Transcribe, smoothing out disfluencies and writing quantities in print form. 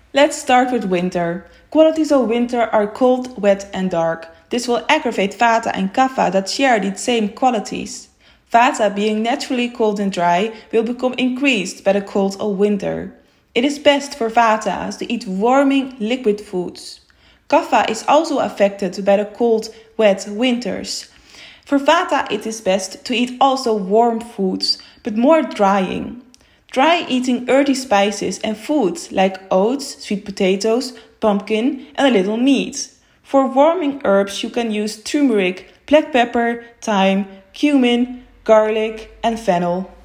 Let's start with winter. Qualities of winter are cold, wet and dark. This will aggravate Vata and Kapha that share these same qualities. Vata, being naturally cold and dry, will become increased by the cold of winter. It is best for Vatas to eat warming liquid foods. Kapha is also affected by the cold, wet winters. For Vata it is best to eat also warm foods, but more drying. Try eating earthy spices and foods like oats, sweet potatoes, pumpkin and a little meat. For warming herbs you can use turmeric, black pepper, thyme, cumin, garlic and fennel.